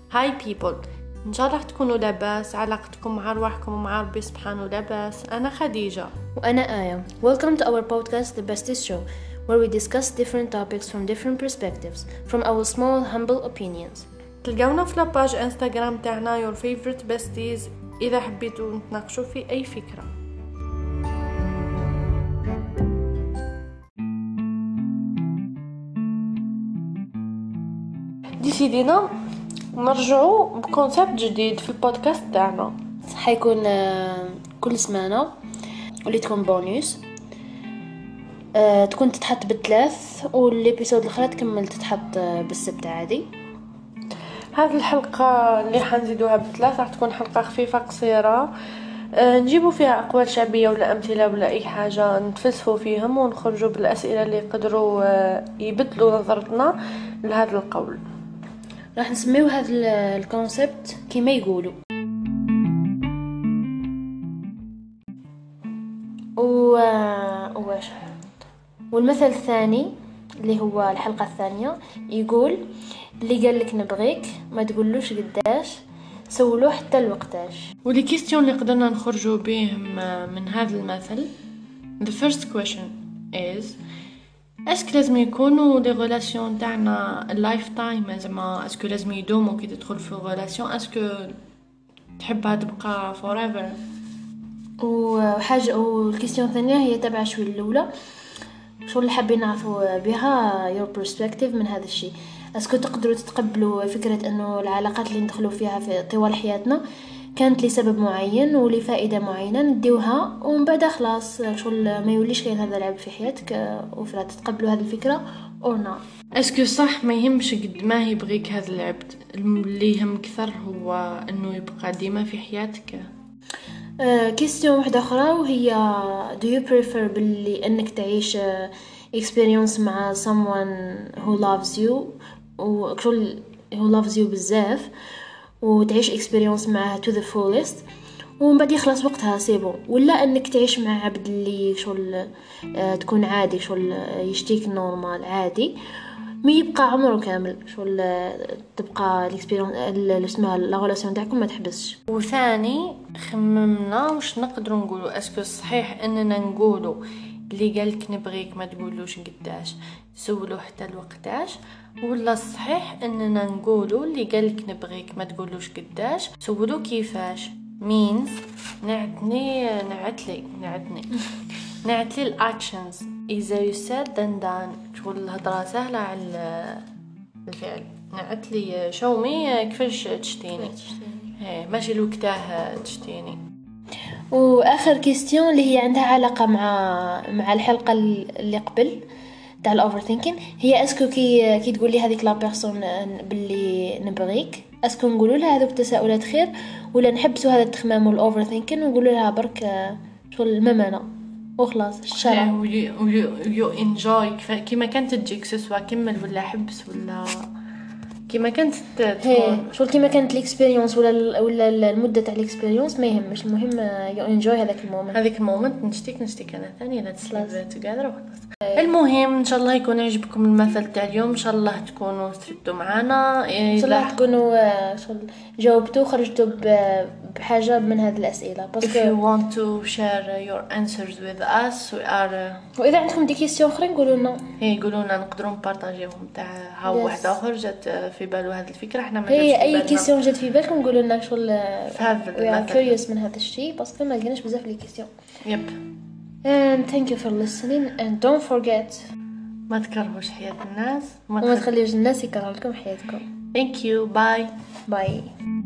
هاي people، إن شاء الله تكونوا لاباس، علاقتكم مع أرواحكم ومع ربي سبحانه لاباس. أنا خديجة وأنا آية. Welcome to our podcast The Besties Show, where we discuss different topics from different perspectives, from our small humble opinions. تلقونا في لاباج انستغرام تاعنا your favorite besties إذا حبيتوا نتناقشوا في أي فكرة. ديسيدينا نرجعوا بكونسيبت جديد في البودكاست تاعنا، حيكون كل سمانة واللي تكون بونيوس، تكون تتحط بالثلاث، والابيسود الاخرى تكمل تتحط بالسبت عادي. هذه الحلقة اللي حنزيدوها بثلاث راح تكون حلقة خفيفة قصيرة، نجيبوا فيها أقوال شعبية ولا أمثلة ولا أي حاجة نتفلسفوا فيهم ونخرجوا بالأسئلة اللي يقدروا يبدلوا نظرتنا لهذا القول. راح نسميو هذا الكونسبت كما يقولوا. والمثل الثاني اللي هو الحلقة الثانية يقول: اللي قال لك نبغيك ما تقولوش قداش، سولوه حتى الوقتاش. واللي كيستيون اللي قدرنا نخرجوا بهم من هذا المثل. The first question is: اسك لازم يكونوا لي غولاسيون تاعنا اللايف تايم، زعما اسكو لازم يدوموا كي تدخل في غولاسيون، اسكو تحبها تبقى forever؟ وحاجة والكيستيون الثانية هي تبع شوي الأولى، شو اللي حابين نعرفوا بها your perspective من هذا الشيء. اسكو تقدروا تتقبلوا فكرة انه العلاقات اللي ندخلوا فيها في طوال حياتنا كانت لسبب معين ولفائدة معينة نديوها، ومن بعد خلاص شغل ما يوليش كاين هذا العيب في حياتك، وفرا تتقبلوا هذه الفكرة أو لا؟ اسكو صح ما يهمش قد ما يبغيك هذا العبد، اللي يهم كثر هو انه يبقى ديما في حياتك. كيستيون واحدة أخرى وهي do you prefer باللي أنك تعيش experience مع someone who loves you وكل who loves you بزاف وتعيش experience معه to the fullest ومن بعد يخلص وقتها سيبو، ولا أنك تعيش مع عبد اللي شغل تكون عادي شغل يشتيك نورمال عادي ما يبقى عمره كامل شغل تبقى الاكسبيرينس اللي اسمها لا غولاسيون تاعكم ما تحبسش. وثاني خممنا واش نقدروا نقولوا، اسكو صحيح اننا نقولوا اللي قالك نبغيك ما تقولوش قداش، سولو حتى الوقتاش، ولا صحيح اننا نقولوا اللي قالك نبغيك ما تقولوش قداش، سولو كيفاش. means نعتلي الاكشنز اذا you said then done، شغل الهضره سهله على الفعل. نعتلي شومي كيفاش تشتيني، ماشي الوقتاه تشتيني. واخر كيستيون اللي هي عندها علاقه مع الحلقه اللي قبل تاع الاوفر ثينكين، هي اسكو كي تقول لي هذيك لا بيرسون باللي نبغيك، اسكو نقولوا لها هذوك التساؤلات خير ولا نحبسوا هذا التخمام والاوفر ثينكين ونقولوا لها برك شغل الممانه وخلاص الشرع يو انجوي كيما كانت تجيك سواء كمل ولا حبس ولا كيما كانت تكون شغل كيما كانت الاكسبيرينس ولا المده تاع الاكسبيرينس ما يهمش، المهم يو انجوي هذاك المومنت. نشتيك انا ثاني لا تسلف توغادر وخلاص. المهم ان شاء الله يكون يعجبكم المثل تاع اليوم، ان شاء الله تكونوا استفدتوا معنا، ان شاء الله تكونوا جاوبتوا خرجتوا بحاجه من هذه الاسئله. If you want to share your answers with us we are واذا عندكم دي كيسيون اخرين قولوا لنا، قولوا لنا نقدروا نبارطاجيوهم تاع هاو واحد اخر جات في باله هذه الفكره، احنا ما هي اي كيسيون جات في بالكم قولوا لنا شغل هذا كيوريوس من هذا الشيء باسكو ما لقيناش بزاف لي كيسيون. يب and thank you for listening and don't forget ما تكرهوش حياة الناس وما تخليوش الناس يكرهوا لكم حياتكم. thank you bye.